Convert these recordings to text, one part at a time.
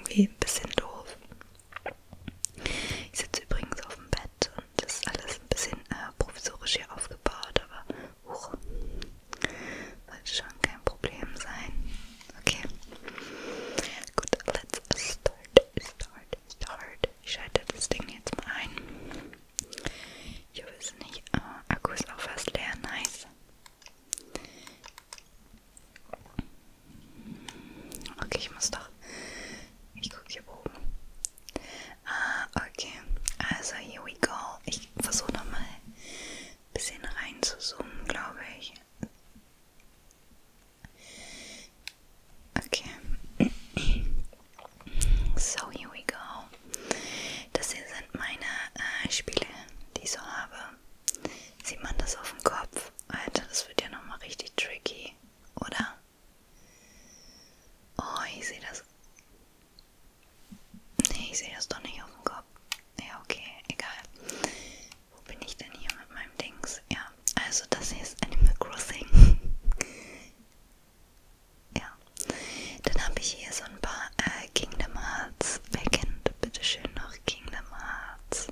irgendwie ein bisschen doof. Ich sitze übrigens auf dem Bett und das ist alles ein bisschen provisorisch hier aufgebaut, aber sollte schon kein Problem sein. Okay. Gut, let's start. Ich schalte das Ding jetzt mal ein. Ich hoffe, es ist nicht. Akku ist auch fast leer, nice. Okay, ich gucke hier oben. Okay, also here we go. Ich versuche nochmal ein bisschen rein zu zoomen, glaube ich. Okay. So, here we go. Das hier sind meine Spiele, die ich so habe. Sieht man das auf dem Kopf? Alter, das wird ja nochmal richtig tricky, oder? Oh, ich sehe das. Nee, ich sehe das doch nicht auf dem Kopf. Ja, okay, egal. Wo bin ich denn hier mit meinem Dings? Ja, also das hier ist Animal Crossing. Ja. Dann habe ich hier so ein paar Kingdom Hearts. Wer kennt bitte schön noch Kingdom Hearts?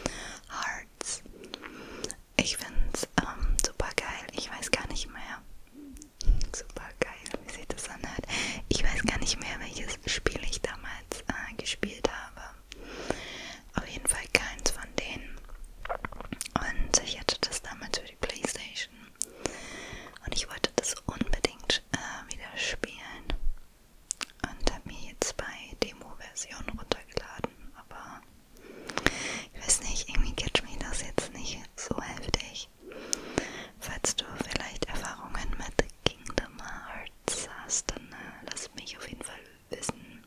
Ich finde es super geil. Ich weiß gar nicht mehr. Super geil, wie sich das anhört. Ich weiß gar nicht mehr, welches Spiel ich damals gespielt habe. Auf jeden Fall keins von denen. Und ich hatte das damals für die Playstation. Und ich wollte das unbedingt wieder spielen. Und habe mir jetzt bei Demo-Version runtergeladen. Aber ich weiß nicht, irgendwie catcht mich das jetzt nicht so heftig. Falls du vielleicht Erfahrungen mit Kingdom Hearts hast, dann lass mich auf jeden Fall wissen.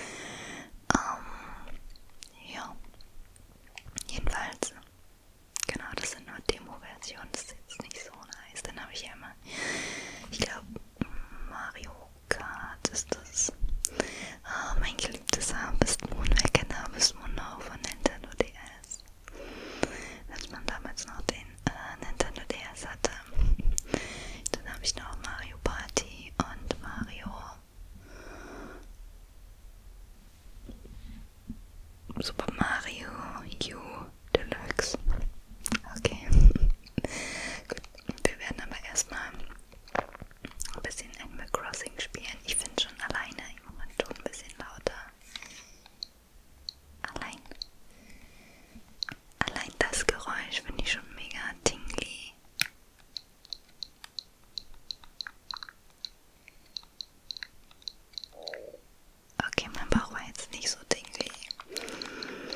Ja. Jedenfalls, genau, das sind nur Demo-Versionen, das ist jetzt nicht so nice. Dann habe ich ja immer, ich glaube, Mario Kart ist das. Mein geliebtes Harvest Moon, wer kennt Harvest Moon noch von Nintendo DS? Als man damals noch den Nintendo DS hatte. Dann habe ich noch Mario Party und Mario Super Mario U Deluxe. Okay. Gut, wir werden aber erstmal ein bisschen Animal Crossing spielen. Ich finde schon alleine im Moment schon ein bisschen lauter. Allein das Geräusch finde ich schon mega tingly. Okay, mein Bauch war jetzt nicht so tingly.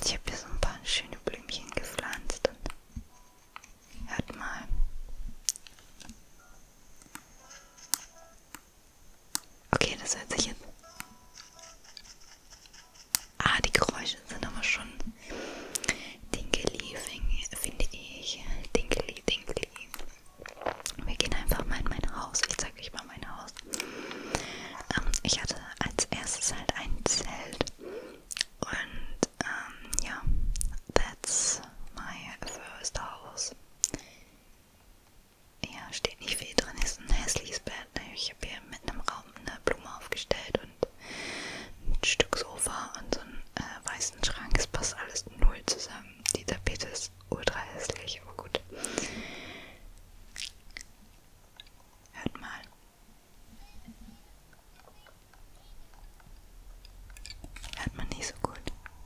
Ich habe hier so ein paar schöne Blümchen gepflanzt. Hört mal. Okay, das hört sich jetzt... Ah, die Geräusche sind aber schon Dinkeli, finde ich. Dinkeli, Dinkeli. Wir gehen einfach mal in mein Haus. Ich zeige euch mal mein Haus. Ich hatte als erstes halt ein Zelt. Und ja, that's my first house. Ja, steht nicht viel drin, ist ein hässliches Bett. Ich habe hier mitten im Raum eine Blume aufgestellt und ein Stück Sofa und so einen weißen Schrank. Es passt alles null zusammen. Die Tapete ist ultra hässlich, aber gut. Hört mal. Hört man nicht so gut.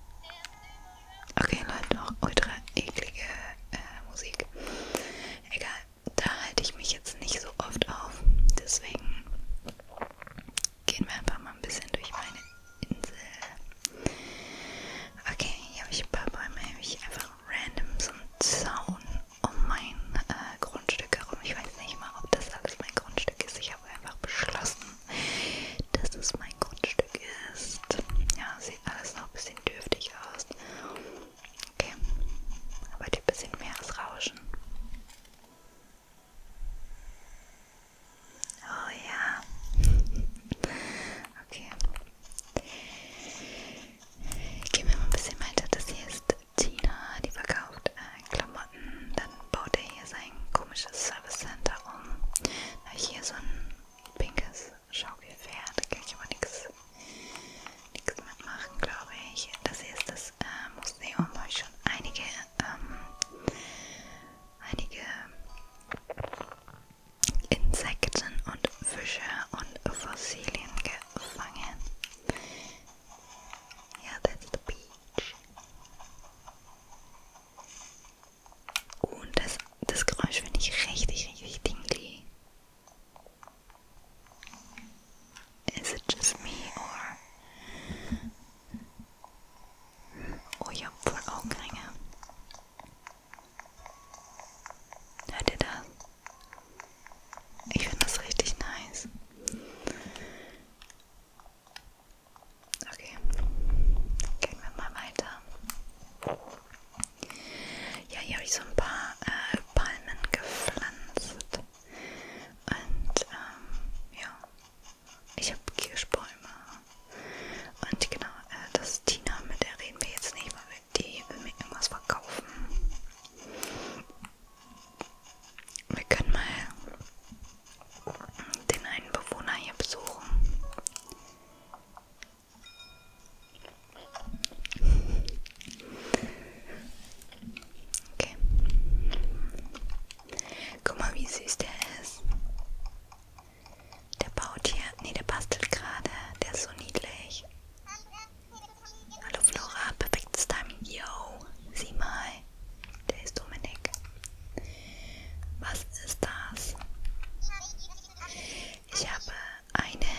Okay, Leute, noch ultra eklige Musik. Egal, da halte ich mich jetzt nicht so oft auf. Deswegen gehen wir einfach mal ein bisschen durch meine Insel. Okay, hier habe ich ein paar Bäume, hier habe ich einfach random so einen Zaun um mein Grundstück herum. Ich weiß nicht mal, ob das alles mein Grundstück ist. Ich habe einfach beschlossen, dass es mein Grundstück ist. Ja, sieht alles noch ein bisschen dürftig aus. Okay, aber ein bisschen Meeresrauschen. Oh ja. Okay. Gehen wir mal ein bisschen weiter. Das hier ist Tina, die verkauft Klamotten. Dann baut er hier sein komisches Service Center um. Da habe ich hier so ein pinkes Schaukelpferd. Da kann ich aber nichts mitmachen, glaube ich. Das hier ist das Museum. Da habe ich schon einige Insekten und Fische und Fossilien gefangen. Ja, that's the beach. Und das Geräusch finde ich richtig, richtig tingly. Is it just me or... Oh, ich habe voll Augenringe. Hört ihr das? Ich finde das richtig nice. Okay, gehen wir mal weiter. Ja, hier habe ich so ein paar Palmen gepflanzt. Und ja, ich habe Kirschbäume. Und genau, das ist Tina, mit der reden wir jetzt nicht, weil die will mir irgendwas verkaufen. Wir können mal den einen Bewohner hier besuchen. Okay. Guck mal, wie süß der ist. Der baut hier, nee, der bastelt gerade. Der ist so niedlich. Hallo Flora, perfektes Timing. Yo, sieh mal. Der ist Dominik. Was ist das? Ich habe eine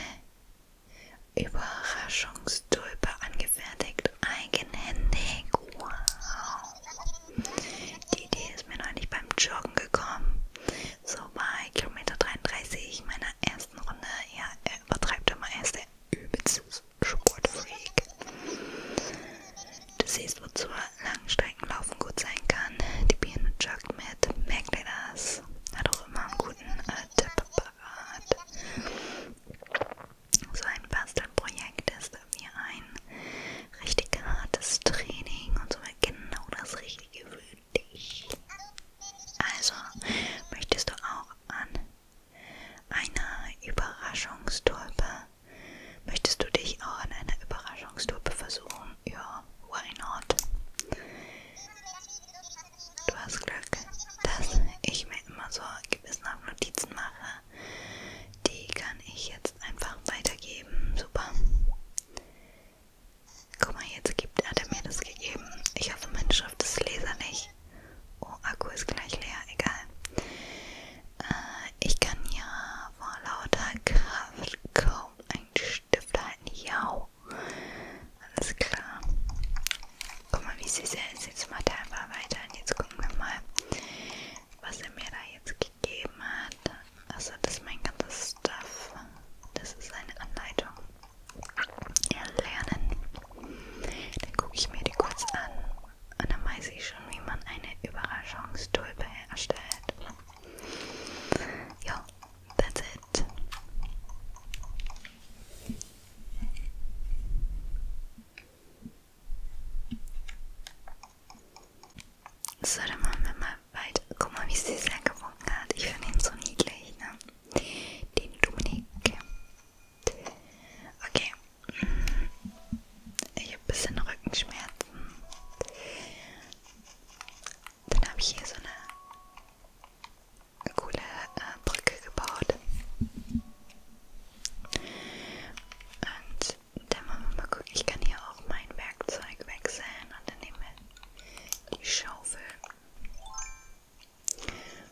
Überraschungstulpe angefertigt. Eigenhändig. Wow. Die Idee ist mir neulich beim Joggen gekommen. So bei Kilometer 33 meiner ersten Runde. Ja, er übertreibt immer, er ist der übelste Sportfreak. Du siehst, wozu Langstreckenlaufen gut sein kann. Die Birne joggt mit. Merkt ihr das? Hat auch immer einen guten Tipp parat. So ein Bastelprojekt ist wie ein richtig hartes Training und somit genau das Richtige für dich. Also, möchtest du auch an einer Überraschungstulpe? Möchtest du dich auch an einer Überraschungstulpe versuchen? Ja, why not? wie süß er ist. Jetzt macht er einfach weiter. Und jetzt gucken wir mal, was er mir da jetzt gegeben hat. Also das ist mein ganzes Stuff. Das ist eine Anleitung. Erlernen. Dann gucke ich mir die kurz an und dann weiß ich schon, wie man eine Überraschungstulpe erstellt. Ja, that's it. So, dann machen wir mal weiter. Guck mal, wie süß er gewunken hat. Ich finde ihn so niedlich, ne? Den Dominik. Okay. Ich habe ein bisschen Rückenschmerzen. Dann habe ich hier so eine coole Brücke gebaut. Und dann wollen wir mal gucken. Ich kann hier auch mein Werkzeug wechseln und dann nehmen wir die Schaufel.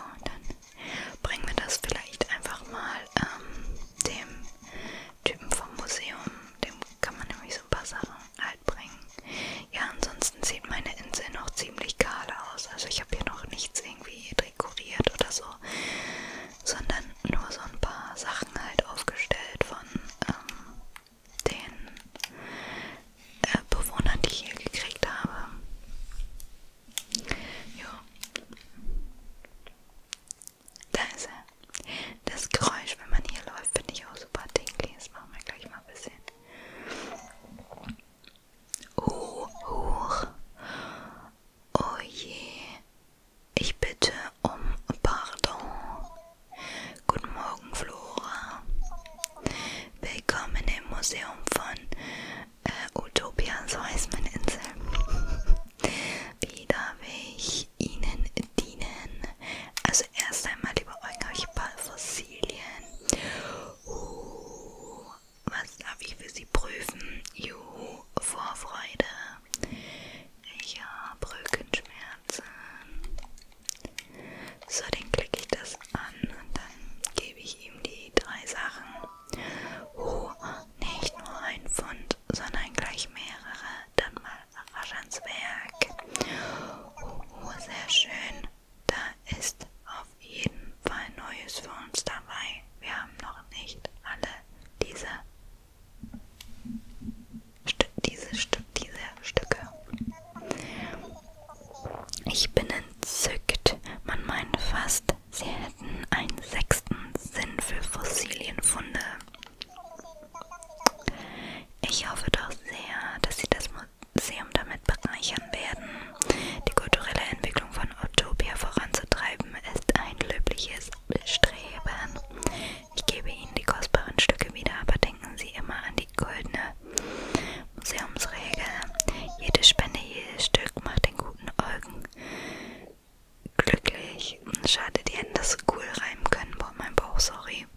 dann bringen wir das vielleicht einfach mal dem Typen vom Museum. Dem kann man nämlich so ein paar Sachen halt bringen. Ja, ansonsten sieht meine Insel noch ziemlich kahl aus. Also ich habe hier noch nichts irgendwie dekoriert oder so, sondern nur so ein paar Sachen halt aufgestellt von den Bewohnern, die ich hier gekriegt habe. Ja. Da ist er. Das Geräusch, wenn man hier läuft, finde ich auch super tingly. Das machen wir gleich mal ein bisschen. Huch. Oh je. Ich bitte um Pardon. Guten Morgen, Flora. Willkommen im Museum von Utopia, so heißt meine Insel. Wie darf ich Ihnen dienen? Also erst einmal, lieber Eugen, habe ich ein paar Fossilien. Was darf ich für Sie prüfen? Juhu, Vorfreude. Ich habe Rückenschmerzen. So, dann klicke ich das an und dann gebe ich ihm die 3 Sachen. Nicht nur ein Pfund, sondern gleich mehrere. Dann mal rasch ans Werk. Sehr schön. Da ist auf jeden Fall Neues für uns dabei. Wir haben noch nicht alle diese Stücke. Ich bin entzückt. Man meint fast, sie hätten einen 6. Sinn für Fossilienfunde. Ich hoffe doch sehr, dass Sie das Museum damit bereichern werden. Die kulturelle Entwicklung von Utopia voranzutreiben ist ein löbliches Bestreben. Ich gebe Ihnen die kostbaren Stücke wieder, aber denken Sie immer an die goldene Museumsregel. Jede Spende, jedes Stück macht den guten Eugen glücklich. Schade, die hätten das so cool reimen können. Boah, mein Bauch, sorry.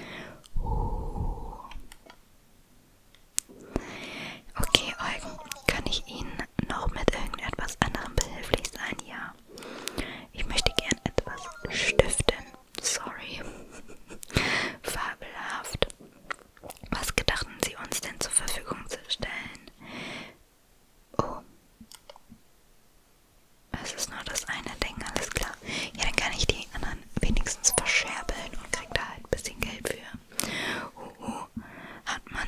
Okay, Eugen, kann ich Ihnen noch mit irgendetwas anderem behilflich sein? Ja. Ich möchte gern etwas stiften. Sorry. Fabelhaft. Was gedachten Sie uns denn zur Verfügung zu stellen? Oh. Es ist nur das eine Ding, alles klar. Ja, dann kann ich die anderen wenigstens verscherbeln und krieg da halt ein bisschen Geld für. Hat man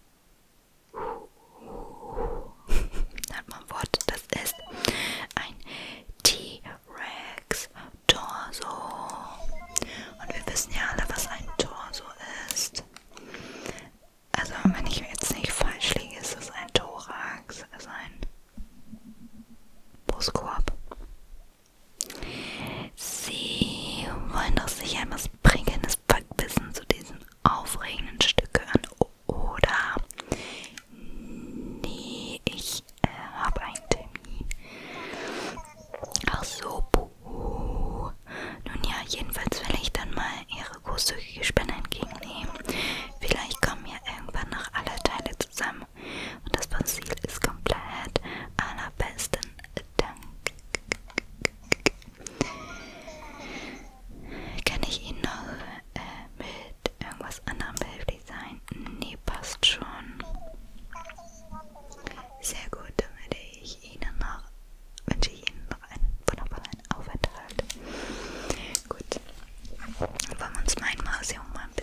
Wort, das ist ein T-Rex Torso. Und wir wissen ja alle, was ein Torso ist. Also, wenn ich jetzt nicht falsch liege, ist es ein Thorax, also ein Brustkorb. Sie wollen doch sicher etwas prägendes Backwissen zu diesen aufregenden Stücke an, oder? Nee, ich habe einen Termin. Ach so, puh. Nun ja, jedenfalls will ich dann mal Ihre großzügige Spende entgegennehmen. Vielleicht kommen ja irgendwann noch alle Teile zusammen und das Fossil ist komplett. Allerbesten Dank. Kann ich Ihnen noch mit irgendwas anderem behilflich sein? Nee, passt schon. Sehr gut, dann wünsche ich Ihnen noch einen wunderbaren Aufenthalt. Gut, wollen wir uns mein Museum mal ein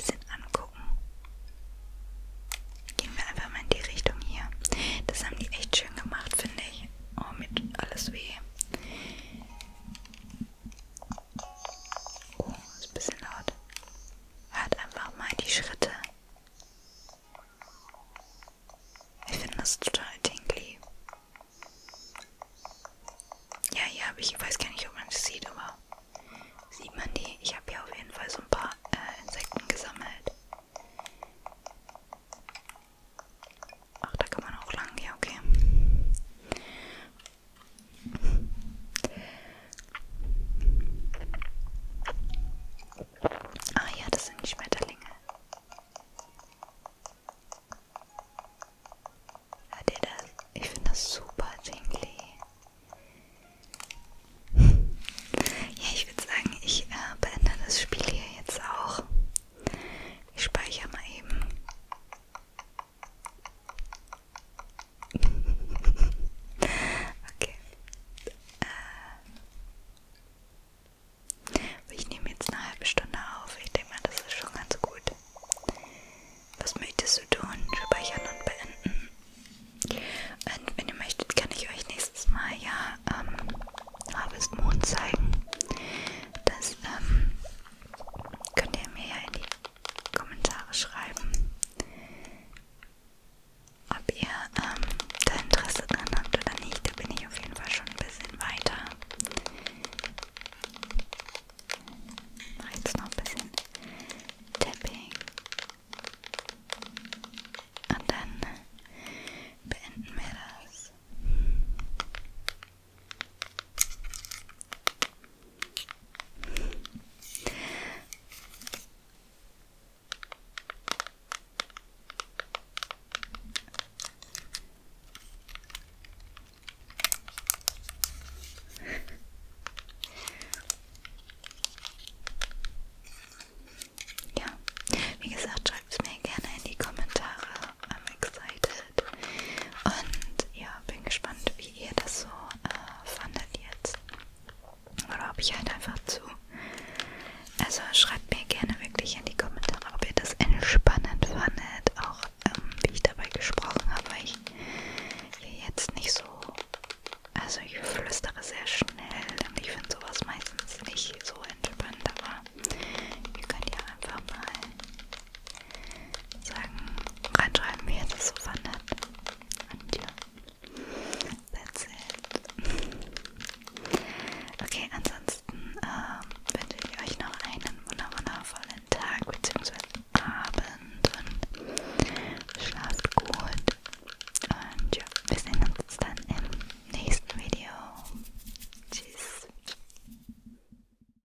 Also schreibt mir gerne wirklich in die Kommentare, ob ihr das entspannend fandet, auch wie ich dabei gesprochen habe, weil ich hier jetzt nicht so, also ich flüstere sehr schnell und ich finde sowas meistens nicht so entspannt,